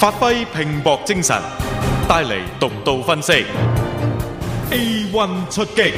發揮拼搏精神，帶嚟獨到分析。A1 出擊，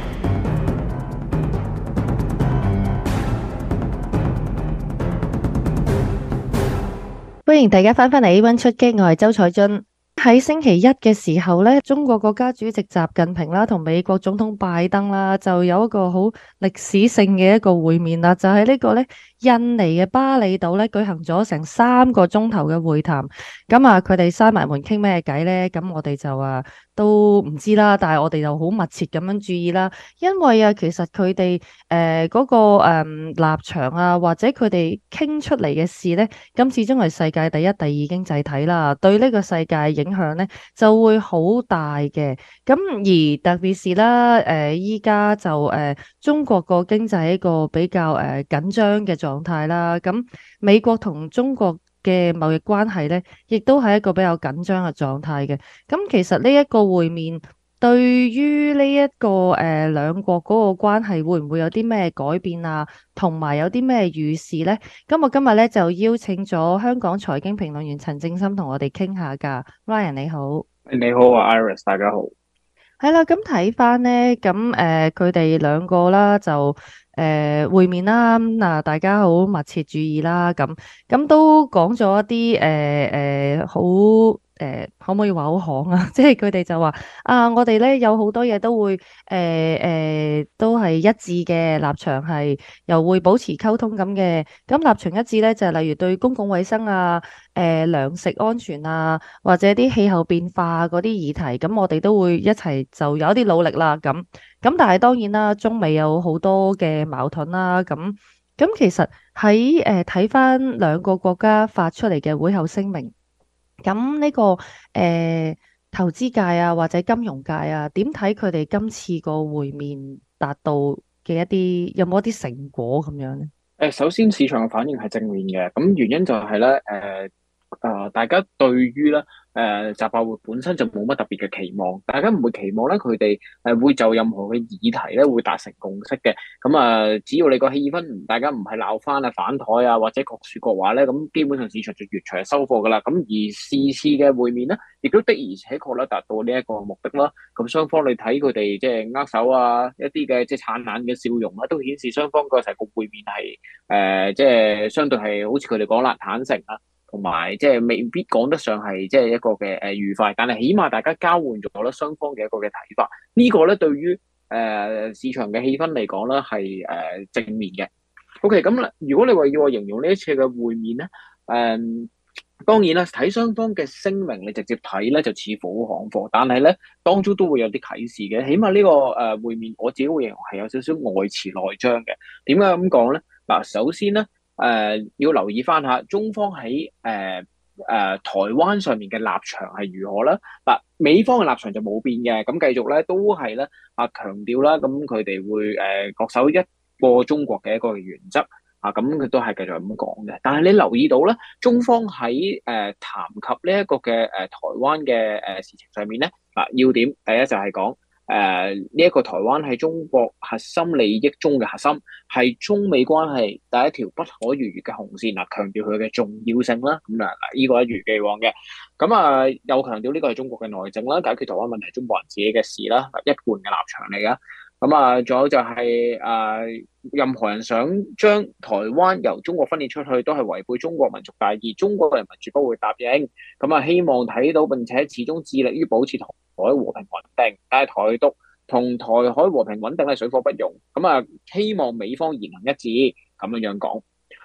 歡迎大家翻返嚟 A1 出擊，我係周彩津。喺星期一嘅時候咧，中國國家主席習近平啦同美國總統拜登啦就有一個好歷史性嘅一個會面啦，就係呢個咧印尼嘅巴厘島咧舉行咗成3個鐘頭嘅會談。咁啊，佢哋閂埋門傾咩偈咧？咁我哋就都唔知啦，但係我哋就好密切咁樣注意啦，因為其實佢哋嗰個立場啊，或者佢哋傾出嚟嘅事咧，咁始終係世界第一、第二經濟體啦，對呢個世界影響咧就會好大嘅。咁而特別是啦，依家就中國個經濟係一個比較緊張嘅狀態啦。咁美國同中國嘅貿易關係咧，亦都係一個比較緊張嘅狀態嘅。咁其實呢一個會面對於呢一個兩國嗰個關係會唔會有啲咩改變啊？同埋有啲咩預示呢？咁我今日咧就邀請咗香港財經評論員陳政深同我哋傾下㗎。Ryan 你好。 你好啊，Iris，大家好。 係啦，咁睇翻呢，咁佢哋兩個啦就會面啦，嗱大家好密切注意啦，咁都講咗一啲好可唔可以話好行啊？即係佢哋就話啊，我哋咧有好多嘢都會都係一致嘅立場，係又會保持溝通咁嘅。咁立場一致咧就係例如對公共衛生啊、糧食安全啊，或者啲氣候變化嗰啲議題，咁我哋都會一齊就有一啲努力啦。咁但係當然啦，中美有好多嘅矛盾啦。咁其實喺睇翻兩個國家發出嚟嘅會後聲明。咁呢個投資界啊，或者金融界啊，點睇佢哋今次個會面達到嘅一啲有冇一啲成果咁樣呢？ 首先市場嘅反應係正面嘅，咁原因就係咧，大家對於咧習拜會本身就冇乜特別嘅期望，大家唔會期望咧佢哋會就任何嘅議題咧會達成共識嘅。咁只要你個氣氛大家唔係鬧翻啊、反台啊或者各說各話咧，咁基本上市場就越場收貨噶啦。咁而次次嘅會面咧，亦都的而且確咧達到呢一個目的啦。咁雙方你睇佢哋即係握手啊，一啲嘅即係燦爛嘅笑容啊，都顯示雙方個成個會面係即係相對係好似佢哋講啦，坦誠啊。同埋即係未必講得上係即係一個嘅愉快，但係起碼大家交換咗咧雙方嘅一個嘅睇法，呢個咧對於市場嘅氣氛嚟講咧係正面嘅。OK，咁如果你話要我形容呢一次嘅會面咧，當然啦，睇雙方嘅聲明，你直接睇咧就似乎好行貨，但係咧當中都會有啲啟示嘅。起碼呢個會面，我自己會形容係有少少外弛內張嘅。點解咁講咧？嗱，首先咧。要留意翻下中方喺台灣上面嘅立場係如何啦。嗱，美方嘅立場就冇變嘅，咁繼續咧都係咧強調啦，咁佢哋會恪守一個中國嘅一個原則咁佢都係繼續咁講嘅。但係你留意到咧，中方喺談及呢一個嘅台灣嘅事情上面咧，要點第一就係講。呢一個台灣係中國核心利益中嘅核心，係中美關係第一條不可逾越嘅紅線嗱，強調佢嘅重要性啦。咁呢個一如既往嘅。咁又強調呢個係中國嘅內政啦，解決台灣問題係中國人自己嘅事啦，一貫嘅立場嚟噶。咁仲有就係任何人想將台灣由中國分裂出去，都係違背中國民族大義，中國人民絕不會答應。希望睇到並且始終致力於保持台海和平穩定，但係台獨同台海和平穩定係水火不容。希望美方言行一致咁樣講。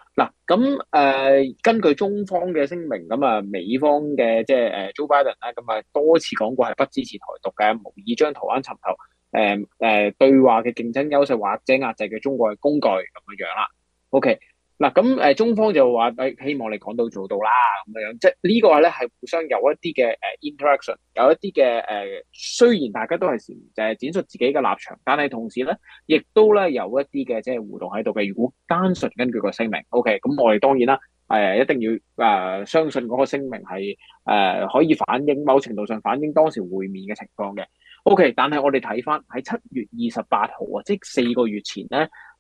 根據中方嘅聲明，美方嘅即係Joe Biden 咧，多次講過係不支持台獨嘅，無意將台灣尋求對話嘅競爭優勢或者壓制嘅中國嘅工具咁樣啦。OK。中方就話希望你講到做到啦咁樣，即係呢個咧係互相有一啲嘅interaction， 有一啲嘅雖然大家都係展述自己嘅立場，但係同時咧亦都咧有一啲嘅即係互動喺度嘅。如果單純根據個聲明 ，OK， 咁我哋當然啦，一定要相信嗰個聲明係可以反映某程度上反映當時會面嘅情況嘅。OK， 但係我哋睇翻喺7月28號啊，即係4個月前咧。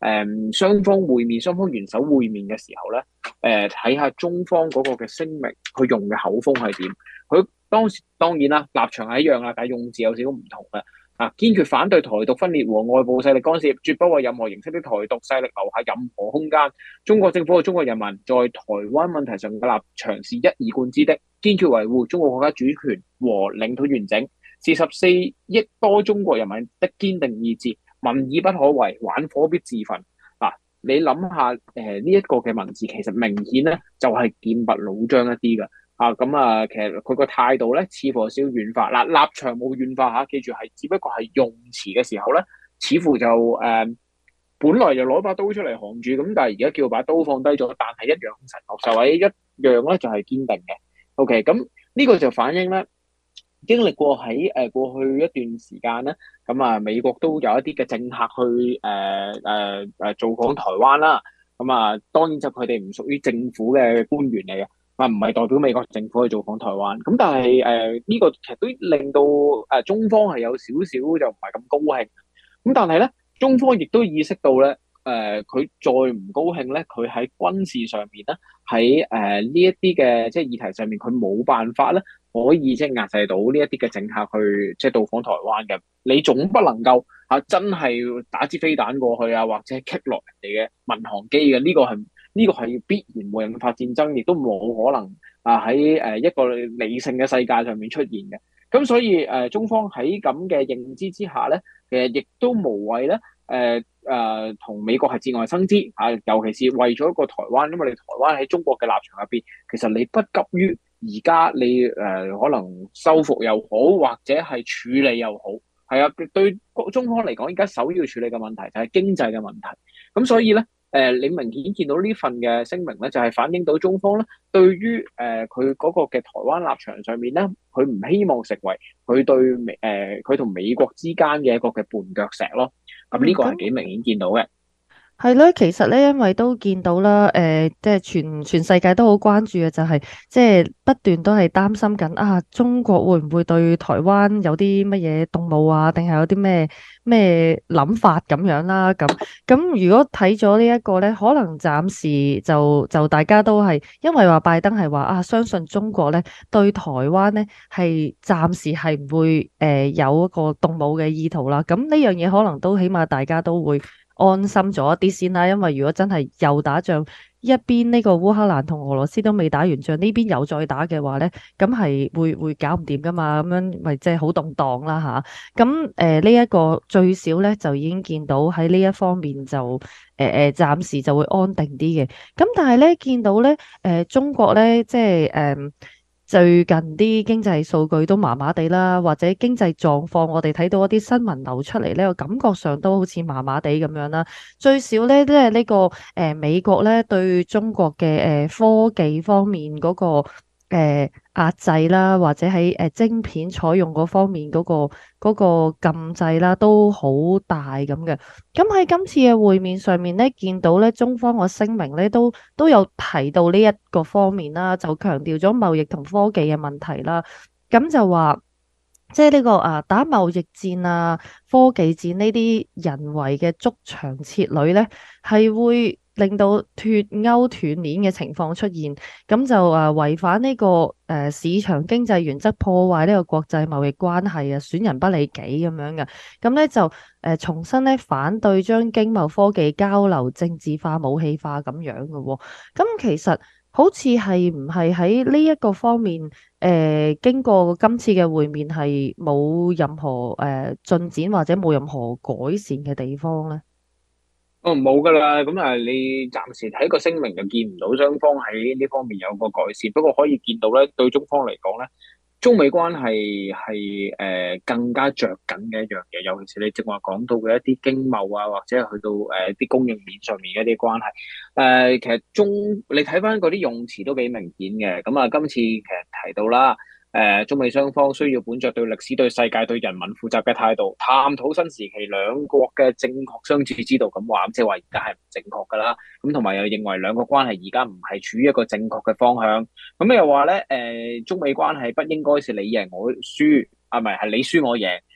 雙方會面、雙方元首會面嘅時候咧，睇下中方嗰個嘅聲明，佢用嘅口風係點？佢當時當然啦，立場係一樣啦，但係用字有少少唔同嘅。堅決反對台獨分裂和外部勢力干涉，絕不為任何形式的台獨勢力留下任何空間。中國政府和中國人民在台灣問題上嘅立場是一以貫之的，堅決維護中國國家主權和領土完整，是14億多中國人民的堅定意志。民意不可違，玩火必自焚。你諗下，呢一個嘅文字其實明顯咧就係劍拔弩張一啲嘅。其實佢個態度咧似乎有少少軟化。立場冇軟化嚇，記住係只不過係用詞嘅時候咧，似乎就本來就攞把刀出嚟扛住，咁但係而家叫把刀放低咗，但係一樣神學受位，一樣咧就係堅定嘅。OK，咁呢個就反映咧。經歷過喺過去一段時間咧，美國都有一啲嘅政客去造訪台灣啦。當然就佢哋唔屬於政府嘅官員嚟嘅，唔係代表美國政府去造訪台灣。咁但係呢個其實都令到中方係有少少就唔係咁高興。咁但係咧，中方亦都意識到咧，佢再唔高興咧，佢喺軍事上面咧，喺呢一啲嘅即係議題上面，佢冇辦法咧。可以即係壓制到呢一啲嘅政客去即係到訪台灣嘅，你總不能夠真係打支飛彈過去啊，或者係擊落人哋嘅民航機嘅，呢個係必然會引發戰爭，亦都冇可能喺一個理性嘅世界上面出現嘅。咁所以中方喺咁嘅認知之下咧，其實亦都無謂咧同美國係節外生枝尤其是為咗一個台灣，因為你台灣喺中國嘅立場入邊，其實你不急於。而家你可能收復又好，或者係處理又好，係啊，對中方嚟講，而家首要處理嘅問題就係經濟嘅問題。咁所以咧，你明顯見到呢份嘅聲明咧，就係反映到中方咧對於佢嗰個嘅台灣立場上面咧，佢唔希望成為佢對佢同美國之間嘅一個嘅絆腳石咯。咁呢個係幾明顯見到嘅。 係咯，其實咧，因為都見到啦，即係全世界都好關注嘅，就係即係不斷都係擔心緊中國會唔會對台灣有啲乜嘢動武啊，定係有啲咩諗法咁樣啦？咁如果睇咗呢一個咧，可能暫時就大家都係因為話拜登係話相信中國咧對台灣咧係暫時係唔會有一個動武嘅意圖啦。咁呢樣嘢可能都起碼大家都會安心咗一啲先啦，因為如果真係又打仗，一邊呢個烏克蘭同俄羅斯都未打完仗，呢邊又再打嘅話咧，咁係會搞唔掂噶嘛，咁樣咪即係好動盪啦吓。咁呢一個最少咧就已經見到喺呢一方面就暫時就會安定啲嘅。咁但係咧見到咧中國咧即係最近啲經濟數據都麻麻地啦，或者經濟狀況，我哋睇到一啲新聞流出嚟咧，我感覺上都好似麻麻地咁樣啦。最少咧，即係呢個美國咧對中國嘅科技方面嗰個壓制啦，或者喺晶片採用嗰方面嗰個禁制啦，都好大咁嘅。咁喺今次嘅會面上面咧，見到咧中方個聲明咧都有提到呢一個方面啦，就強調咗貿易同科技嘅問題啦。咁就話即係呢個打貿易戰科技戰呢啲人為嘅築牆設壘咧，係會令到脫鈎斷鏈嘅情況出現，咁就違反呢個市場經濟原則，破壞呢個國際貿易關係損人不利己咁樣嘅。咁咧就重新咧反對將經貿科技交流政治化、武器化咁樣嘅喎。咁其實好似係唔係喺呢一個方面經過今次嘅會面係冇任何進展或者冇任何改善嘅地方咧？ 冇噶啦，咁你暫時睇個聲明就見唔到雙方喺呢方面有個改善，不過可以見到咧，對中方嚟講咧，中美關係係更加着緊嘅一樣嘢，尤其是你正話講到嘅一啲經貿或者係去到啲供應鏈上面嘅一啲關係，其實你睇翻嗰啲用詞都幾明顯嘅，咁今次其實提到啦。中美雙方需要本着對歷史、對世界、對人民負責嘅態度，探討新時期兩國嘅正確相處之道。咁話，即係話而家係唔正確噶啦。咁同埋又認為兩個關係而家唔係處於一個正確嘅方向。咁又話咧，中美關係不應該是你贏我輸，係你輸我贏。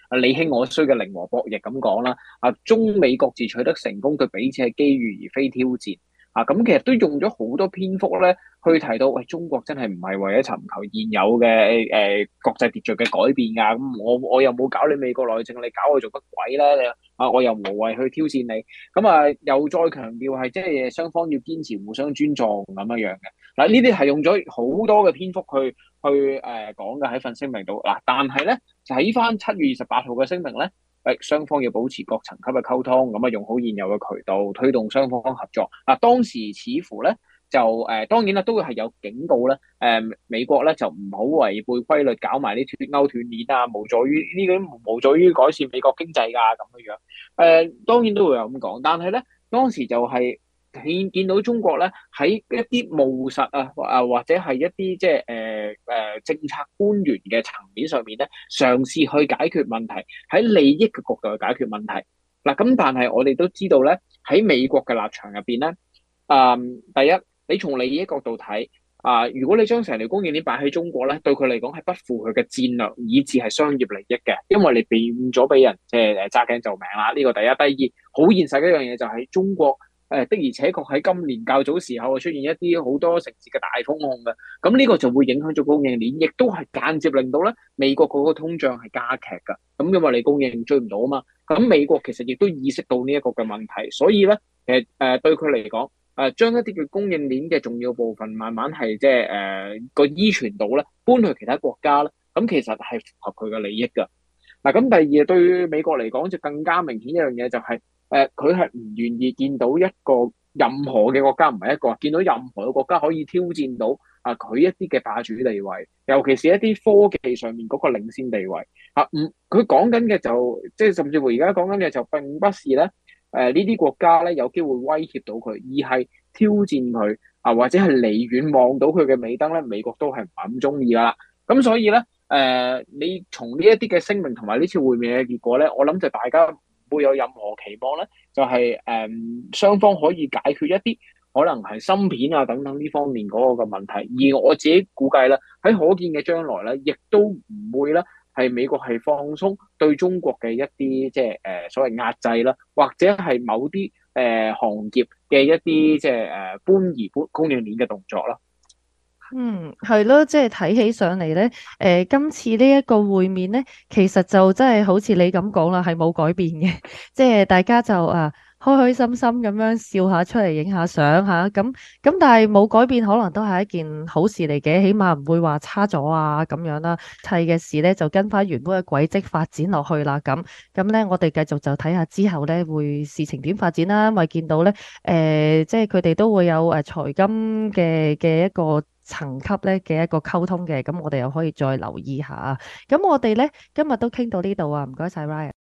你興我衰嘅零和博弈咁講啦。中美各自取得成功，對彼此係機遇而非挑戰。咁其實都用咗好多篇幅咧，去提到喂，中國真係唔係為咗尋求現有嘅國際秩序嘅改變㗎。咁我又冇搞你美國內政，你搞我做乜鬼咧？我又無謂去挑戰你。咁又再強調係即係雙方要堅持互相尊重咁樣嘅。嗱，呢啲係用咗好多嘅篇幅去講嘅喺份聲明度。嗱，但係咧睇翻7月28號嘅聲明咧。雙方要保持各層級嘅溝通，咁用好現有嘅渠道推動雙方合作。當時似乎咧就當然啦，都會係有警告咧。美國咧就唔好違背規律，搞埋啲脫鈎斷鏈啊，無助於改善美國經濟㗎咁樣。當然都會有咁講，但係咧當時就係見到中國咧喺一啲務實或者係一啲即係政策官員嘅層面上面咧，嘗試去解決問題，喺利益嘅角度去解決問題。嗱，咁但係我哋都知道咧，喺美國嘅立場入邊咧，第一，你從利益角度睇如果你將成條供應鏈擺喺中國咧，對佢嚟講係不負佢嘅戰略以至係商業利益嘅，因為你避免咗俾人即係揸頸就命啦。呢個第一，第二，好現實嘅一樣嘢就係中國。的而且確喺今年較早時候出現一啲好多城市嘅大封控嘅，咁呢個就會影響咗供應鏈，亦都係間接令到咧美國嗰個通脹係加劇㗎。咁因為你供應追唔到啊嘛，咁美國其實亦都意識到呢一個嘅問題，所以咧對佢嚟講，將一啲嘅供應鏈嘅重要部分慢慢係即係個依存度咧搬去其他國家咧，咁其實係符合佢嘅利益㗎。嗱，咁第二對於美國嚟講就更加明顯一樣嘢就係。佢係唔願意見到一個任何嘅國家，唔係一個見到任何嘅國家可以挑戰到佢一啲嘅霸主地位，尤其是一啲科技上面嗰個領先地位。佢講緊嘅就即係甚至乎而家講緊嘅就並不是咧呢啲國家咧有機會威脅到佢，而係挑戰佢或者係離遠望到佢嘅尾燈咧，美國都係唔係咁中意噶啦。咁所以咧你從呢一啲嘅聲明同埋呢次會面嘅結果咧，我諗就大家會有任何期望咧，就係雙方可以解決一啲可能係芯片等等呢方面嗰個嘅問題。而我自己估計咧，喺可見嘅將來咧，亦都唔會咧係美國係放鬆對中國嘅一啲即係所謂壓制啦，或者係某啲行業嘅一啲即係搬移供應鏈嘅動作啦。 係咯，即係睇起上嚟咧，今次呢一個會面咧，其實就真係好似你咁講啦，係冇改變嘅，即係大家就開開心心咁樣笑下出嚟，影下相吓，咁但係冇改變，可能都係一件好事嚟嘅，起碼唔會話差咗咁樣啦。一切嘅事咧就跟翻原本嘅軌跡發展落去啦，咁咧我哋繼續就睇下之後咧會事情點發展啦，因為見到咧即係佢哋都會有財金嘅一個層級咧嘅一個溝通嘅，咁我哋又可以再留意下。咁我哋咧今日都傾到呢度啊，唔該晒 Ryan。